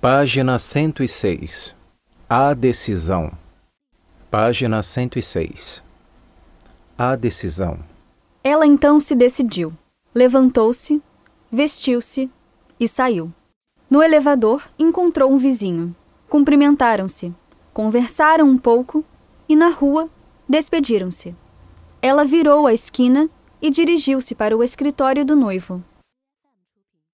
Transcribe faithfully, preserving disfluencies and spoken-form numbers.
Página cento e seis. A decisão. Página cento e seis. A decisão. Ela então se decidiu, levantou-se, vestiu-se e saiu. No elevador, encontrou um vizinho. Cumprimentaram-se, conversaram um pouco e, na rua, despediram-se. Ela virou a esquina e dirigiu-se para o escritório do noivo.